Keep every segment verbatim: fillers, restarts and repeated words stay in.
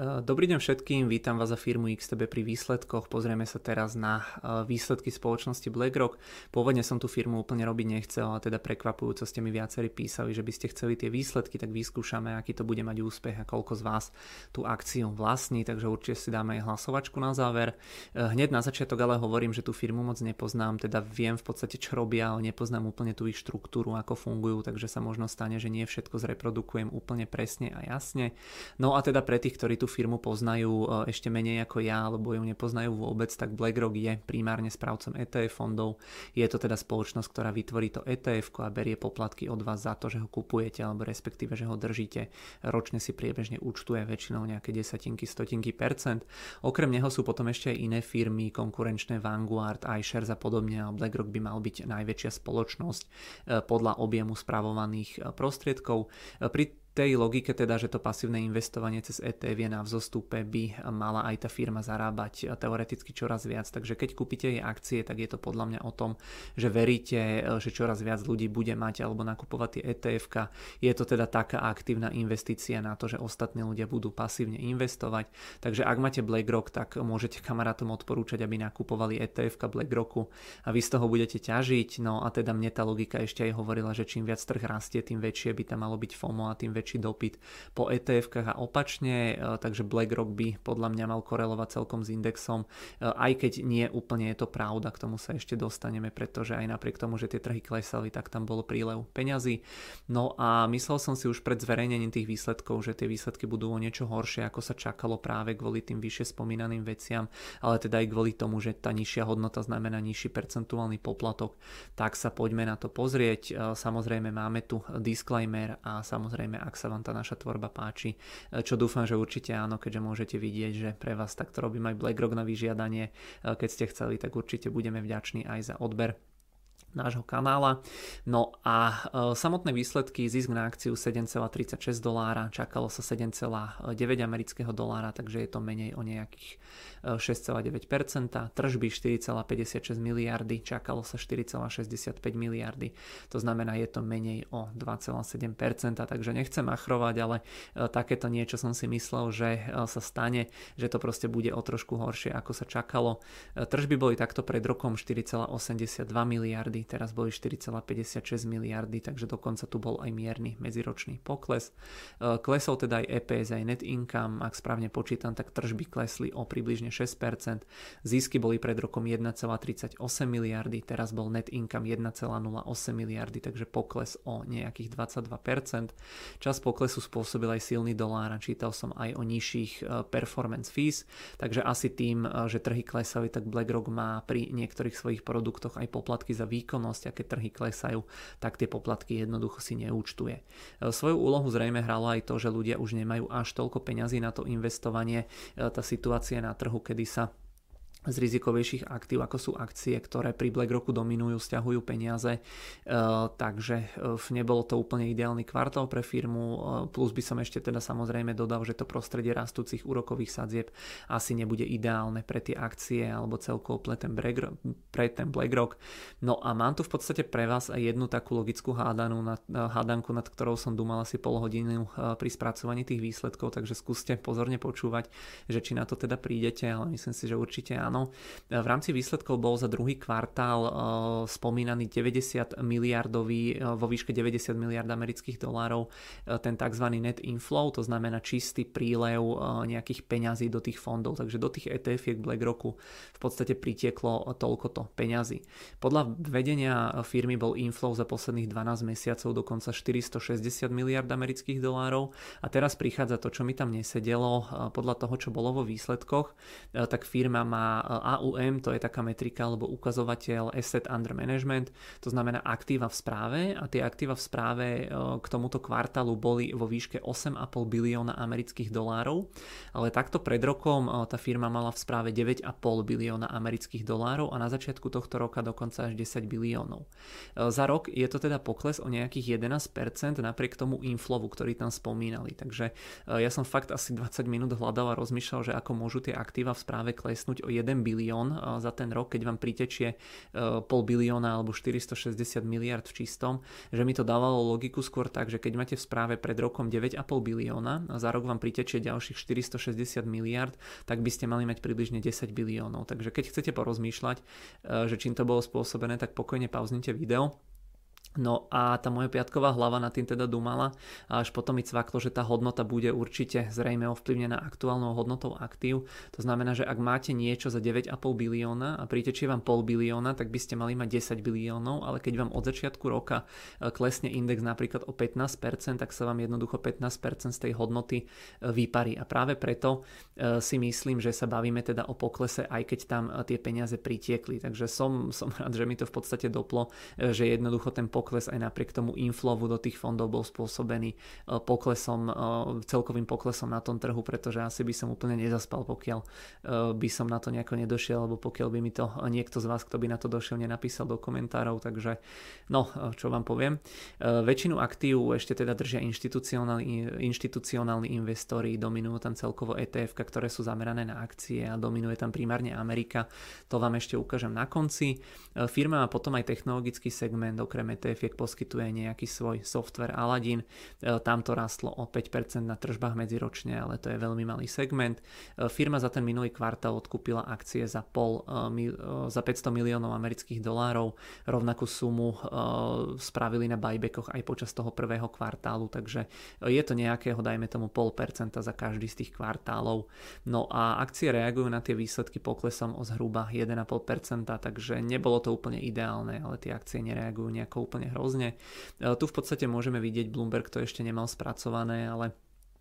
Dobrý deň všetkým, vítam vás za firmu iks té bé pri výsledkoch. Pozrieme sa teraz na výsledky spoločnosti BlackRock. Pôvodne som tú firmu úplne robiť nechcel, ale teda prekvapujúco ste mi viacerí písali, že by ste chceli tie výsledky, tak vyskúšame, aký to bude mať úspech a koľko z vás tú akciu vlastní, takže určite si dáme aj hlasovačku na záver. Hneď na začiatok ale hovorím, že tú firmu moc nepoznám, teda viem v podstate čo robia, ale nepoznám úplne tú ich štruktúru, ako fungujú, takže sa možno stane, že nie všetko zreprodukujem úplne presne a jasne. No a teda pre tých, ktorí tú firmu poznajú ešte menej ako ja, alebo ju nepoznajú vôbec, tak BlackRock je primárne správcom é té ef fondov. Je to teda spoločnosť, ktorá vytvorí to é té ef a berie poplatky od vás za to, že ho kupujete, alebo respektíve, že ho držíte. Ročne si priebežne účtuje väčšinou nejaké desatinky, stotinky percent. Okrem neho sú potom ešte aj iné firmy, konkurenčné Vanguard, iShares a podobne, a BlackRock by mal byť najväčšia spoločnosť podľa objemu spravovaných prostriedkov. Pri tej logike teda, že to pasívne investovanie cez é té ef je na vzostupe, by mala aj tá firma zarábať teoreticky čoraz viac. Takže keď kúpite jej akcie, tak je to podľa mňa o tom, že veríte, že čoraz viac ľudí bude mať alebo nakupovať tie é té efka. Je to teda taká aktívna investícia na to, že ostatní ľudia budú pasívne investovať. Takže ak máte BlackRock, tak môžete kamarátom odporúčať, aby nakupovali é té efka BlackRocku a vy z toho budete ťažiť. No a teda mne tá logika ešte aj hovorila, že čím viac trh rastie, tým väčšie by tam malo byť FOMO a tým väčší dopyt po é té efkách a opačne, takže BlackRock by podľa mňa mal korelovať celkom s indexom, aj keď nie úplne je to pravda, k tomu sa ešte dostaneme, pretože aj napriek tomu, že tie trhy klesali, tak tam bol prílev peňazí. No a myslel som si už pred zverejnením tých výsledkov, že tie výsledky budú o niečo horšie, ako sa čakalo práve kvôli tým vyššie spomínaným veciam, ale teda aj kvôli tomu, že tá nižšia hodnota znamená nižší percentuálny poplatok. Tak sa poďme na to pozrieť. Samozrejme máme tu disclaimer a samozrejme, ak sa vám tá naša tvorba páči, čo dúfam, že určite áno, keďže môžete vidieť, že pre vás takto robím aj BlackRock na vyžiadanie. Keď ste chceli, tak určite budeme vďační aj za odber nášho kanála. No a e, samotné výsledky, zisk na akciu sedem celá tridsaťšesť dolára, čakalo sa sedem celá deväť amerického dolára, takže je to menej o nejakých šesť celá deväť percent, tržby štyri celá päťdesiatšesť miliardy, čakalo sa štyri celá šesťdesiatpäť miliardy, to znamená, je to menej o dva celá sedem percent, takže nechcem machrovať, ale e, takéto niečo som si myslel, že e, sa stane, že to proste bude o trošku horšie, ako sa čakalo. E, tržby boli takto pred rokom štyri celá osemdesiatdva miliardy, teraz boli štyri celá päťdesiatšesť miliardy, takže dokonca tu bol aj mierny medziročný pokles. Klesol teda aj é pé es, aj net income, ak správne počítam, tak tržby klesli o približne šesť percent. Zisky boli pred rokom jeden celá tridsaťosem miliardy, teraz bol net income jeden celá nula osem miliardy, takže pokles o nejakých dvadsaťdva percent. Čas poklesu spôsobil aj silný dolár a čítal som aj o nižších performance fees, takže asi tým, že trhy klesali, tak BlackRock má pri niektorých svojich produktoch aj poplatky za výkon, a keď trhy klesajú, tak tie poplatky jednoducho si neúčtuje. Svoju úlohu zrejme hralo aj to, že ľudia už nemajú až toľko peňazí na to investovanie. Tá situácia na trhu, kedy sa z rizikovejších aktív, ako sú akcie, ktoré pri BlackRocku dominujú, stiahujú peniaze, e, takže e, nebolo to úplne ideálny kvartál pre firmu, e, plus by som ešte teda samozrejme dodal, že to prostredie rastúcich úrokových sadzieb asi nebude ideálne pre tie akcie alebo celkovo pre ten, pre ten BlackRock. No a mám tu v podstate pre vás aj jednu takú logickú hádanú, nad, hádanku, nad ktorou som dúmal asi pol hodinu pri spracovaní tých výsledkov, takže skúste pozorne počúvať, že či na to teda prídete, ale myslím si, že určite áno. Áno. V rámci výsledkov bol za druhý kvartál uh, spomínaný deväťdesiat miliardový, uh, vo výške deväťdesiat miliard amerických dolárov, uh, ten tzv. Net inflow, to znamená čistý prílev uh, nejakých peňazí do tých fondov, takže do tých é té efiek BlackRocku v podstate pritieklo toľkoto peňazí. Podľa vedenia firmy bol inflow za posledných dvanásť mesiacov dokonca štyristošesťdesiat miliard amerických dolárov a teraz prichádza to, čo mi tam nesedelo. Uh, podľa toho, čo bolo vo výsledkoch, uh, tak firma má á ú em, to je taká metrika alebo ukazovateľ Asset Under Management, to znamená aktíva v správe a tie aktíva v správe k tomuto kvartálu boli vo výške osem celá päť bilióna amerických dolárov, ale takto pred rokom tá firma mala v správe deväť celá päť bilióna amerických dolárov a na začiatku tohto roka dokonca až desať biliónov. Za rok je to teda pokles o nejakých jedenásť percent napriek tomu inflowu, ktorý tam spomínali, takže ja som fakt asi dvadsať minút hľadal a rozmýšľal, že ako môžu tie aktíva v správe klesnúť o jedenásť jeden bilión za ten rok, keď vám pritečie pol bilióna alebo štyristošesťdesiat miliárd v čistom, že mi to dávalo logiku skôr tak, že keď máte v správe pred rokom deväť a pol bilióna a za rok vám pritečie ďalších štyristošesťdesiat miliárd, tak by ste mali mať približne desať biliónov. Takže keď chcete porozmýšľať, že čím to bolo spôsobené, tak pokojne pauznite video. No a tá moja piatková hlava nad tým teda dumala a až potom mi cvaklo, že tá hodnota bude určite zrejme ovplyvnená aktuálnou hodnotou aktív. To znamená, že ak máte niečo za deväť a pol bilióna a pritečie vám pol bilióna, tak by ste mali mať desať biliónov, ale keď vám od začiatku roka klesne index napríklad o pätnásť percent, tak sa vám jednoducho pätnásť percent z tej hodnoty vyparí. A práve preto si myslím, že sa bavíme teda o poklese, aj keď tam tie peniaze pritiekli. Takže som, som rád, že mi to v podstate doplo, že jednoducho ten pokles aj napriek tomu inflovu do tých fondov bol spôsobený poklesom, celkovým poklesom na tom trhu, pretože asi by som úplne nezaspal, pokiaľ by som na to nejako nedošiel, alebo pokiaľ by mi to niekto z vás, kto by na to došiel, nenapísal do komentárov, takže no, čo vám poviem. Väčšinu aktív ešte teda držia inštitucionálni, inštitucionálni investori, dominujú tam celkovo é té ef, ktoré sú zamerané na akcie a dominuje tam primárne Amerika, to vám ešte ukážem na konci. Firma má potom aj technologický segment, okrem é té ef poskytuje nejaký svoj software Aladdin, tam to rastlo o päť percent na tržbách medziročne, ale to je veľmi malý segment. Firma za ten minulý kvartál odkúpila akcie za, pol, za päťsto miliónov amerických dolárov, rovnakú sumu spravili na buybackoch aj počas toho prvého kvartálu, takže je to nejakého, dajme tomu pol percenta za každý z tých kvartálov. No a akcie reagujú na tie výsledky poklesom o zhruba jeden a pol percenta, takže nebolo to úplne ideálne, ale tie akcie nereagujú nejako úplne hrozne. Tu v podstate môžeme vidieť, Bloomberg to ešte nemal spracované, ale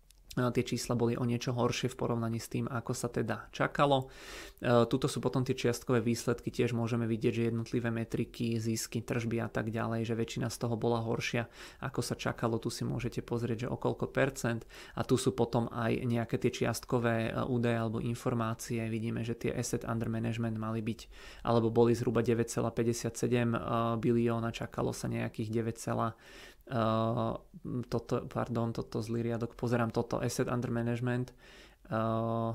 tie čísla boli o niečo horšie v porovnaní s tým, ako sa teda čakalo. Tuto sú potom tie čiastkové výsledky, tiež môžeme vidieť, že jednotlivé metriky, zisky, tržby a tak ďalej, že väčšina z toho bola horšia, ako sa čakalo. Tu si môžete pozrieť, že o koľko percent, a tu sú potom aj nejaké tie čiastkové údaje alebo informácie. Vidíme, že tie asset under management mali byť, alebo boli zhruba deväť celá päťdesiatsedem bilióna, čakalo sa nejakých deväť, Uh, toto, pardon, toto zlý riadok, pozerám toto, asset under management, uh,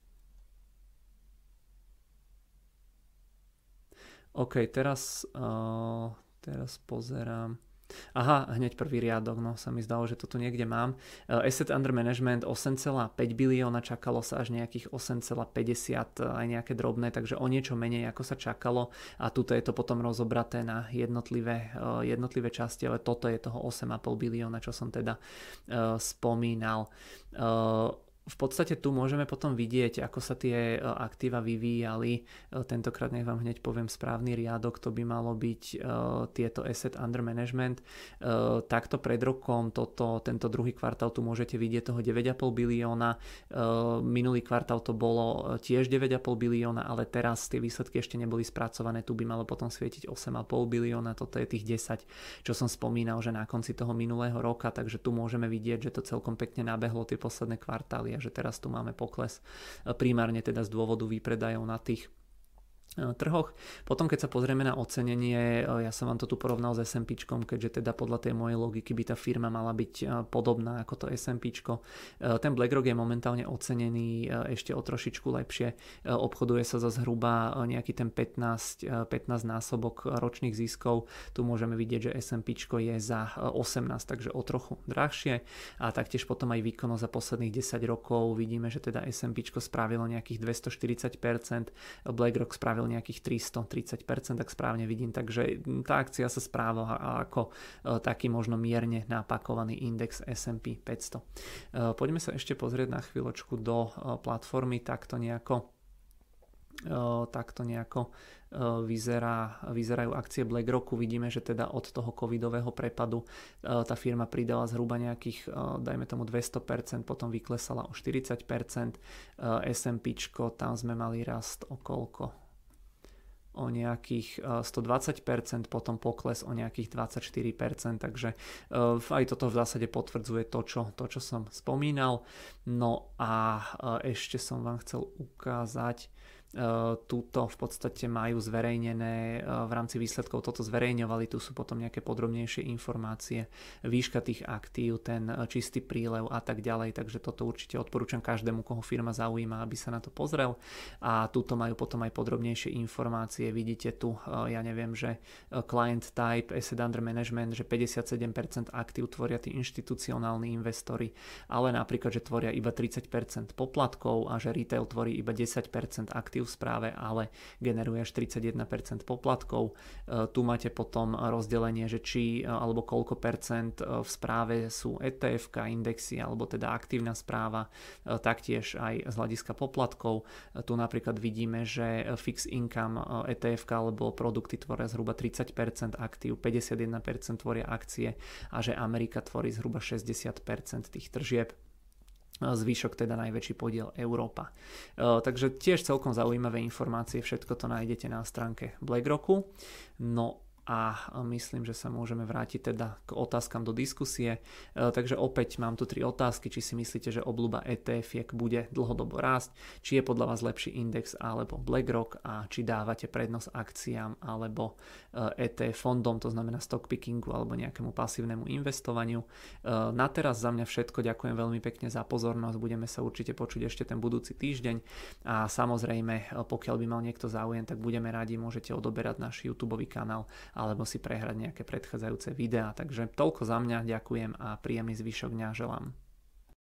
ok, teraz uh, teraz pozerám. Aha, hneď prvý riadok, no sa mi zdalo, že to tu niekde mám. Uh, asset under management osem celá päť bilióna, čakalo sa až nejakých osem celá päťdesiat, aj nejaké drobné, takže o niečo menej ako sa čakalo a tuto je to potom rozobraté na jednotlivé, uh, jednotlivé časti, ale toto je toho osem celá päť bilióna, čo som teda uh, spomínal. Uh, V podstate tu môžeme potom vidieť, ako sa tie aktíva vyvíjali. Tentokrát nech vám hneď poviem správny riadok, to by malo byť uh, tieto asset under management. Uh, takto pred rokom, toto, tento druhý kvartál, tu môžete vidieť toho deväť celá päť bilióna. Uh, minulý kvartál to bolo tiež deväť celá päť bilióna, ale teraz tie výsledky ešte neboli spracované. Tu by malo potom svietiť osem celá päť bilióna, toto je tých desať, čo som spomínal, že na konci toho minulého roka, takže tu môžeme vidieť, že to celkom pekne nabehlo tie posledné kvartály, že teraz tu máme pokles primárne teda z dôvodu výpredajov na tých trhoch. Potom keď sa pozrieme na ocenenie, ja som vám to tu porovnal s es end píčkom, keďže teda podľa tej mojej logiky by tá firma mala byť podobná ako to es end píčko. Ten BlackRock je momentálne ocenený ešte o trošičku lepšie. Obchoduje sa za zhruba nejaký ten pätnásť, pätnásť násobok ročných ziskov. Tu môžeme vidieť, že es end píčko je za osemnásť, takže o trochu drahšie. A taktiež potom aj výkonnosť za posledných desať rokov. Vidíme, že teda es end píčko spravilo nejakých dvestoštyridsať percent, BlackRock spravil nejakých tristotridsať percent, tak správne vidím, takže tá akcia sa správa ako taký možno mierne napakovaný index es end pí päťsto. Poďme sa ešte pozrieť na chvíľočku do platformy, takto nejako takto nejako vyzerá, vyzerajú akcie BlackRocku. Vidíme, že teda od toho covidového prepadu tá firma pridala zhruba nejakých, dajme tomu dvesto percent, potom vyklesala o štyridsať percent, es end píčko, tam sme mali rast o koľko? O nejakých stodvadsať percent, potom pokles o nejakých dvadsaťštyri percent, takže aj toto v zásade potvrdzuje to, čo, to, čo som spomínal. No a ešte som vám chcel ukázať Túto v podstate majú zverejnené v rámci výsledkov, toto zverejňovali, tu sú potom nejaké podrobnejšie informácie, výška tých aktív, ten čistý prílev a tak ďalej, takže toto určite odporúčam každému, koho firma zaujíma, aby sa na to pozrel. A túto majú potom aj podrobnejšie informácie, vidíte tu, ja neviem, že client type, asset under management, že päťdesiatsedem percent aktív tvoria tí inštitucionálni investori, ale napríklad, že tvoria iba tridsať percent poplatkov a že retail tvorí iba desať percent aktív v správe, ale generuje až tridsaťjeden percent poplatkov. Tu máte potom rozdelenie, že či alebo koľko percent v správe sú é té ef ká indexy, alebo teda aktívna správa, taktiež aj z hľadiska poplatkov. Tu napríklad vidíme, že fixed income é té ef ká alebo produkty tvoria zhruba tridsať percent aktív, päťdesiatjeden percent tvoria akcie a že Amerika tvorí zhruba šesťdesiat percent tých tržieb. Zvyšok teda najväčší podiel Európa. Takže tiež celkom zaujímavé informácie, všetko to nájdete na stránke BlackRocku. No a myslím, že sa môžeme vrátiť teda k otázkam do diskusie. Takže opäť mám tu tri otázky, či si myslíte, že obľúba é té efiek bude dlhodobo rásť, či je podľa vás lepší index alebo BlackRock a či dávate prednosť akciám alebo é té fondom, to znamená stock pickingu alebo nejakému pasívnemu investovaniu. Na teraz za mňa všetko, ďakujem veľmi pekne za pozornosť, budeme sa určite počuť ešte ten budúci týždeň a samozrejme, pokiaľ by mal niekto záujem, tak budeme radi, môžete odoberať náš YouTube kanál alebo si prehrať nejaké predchádzajúce videá. Takže toľko za mňa, ďakujem a príjemný zvyšok dňa želám.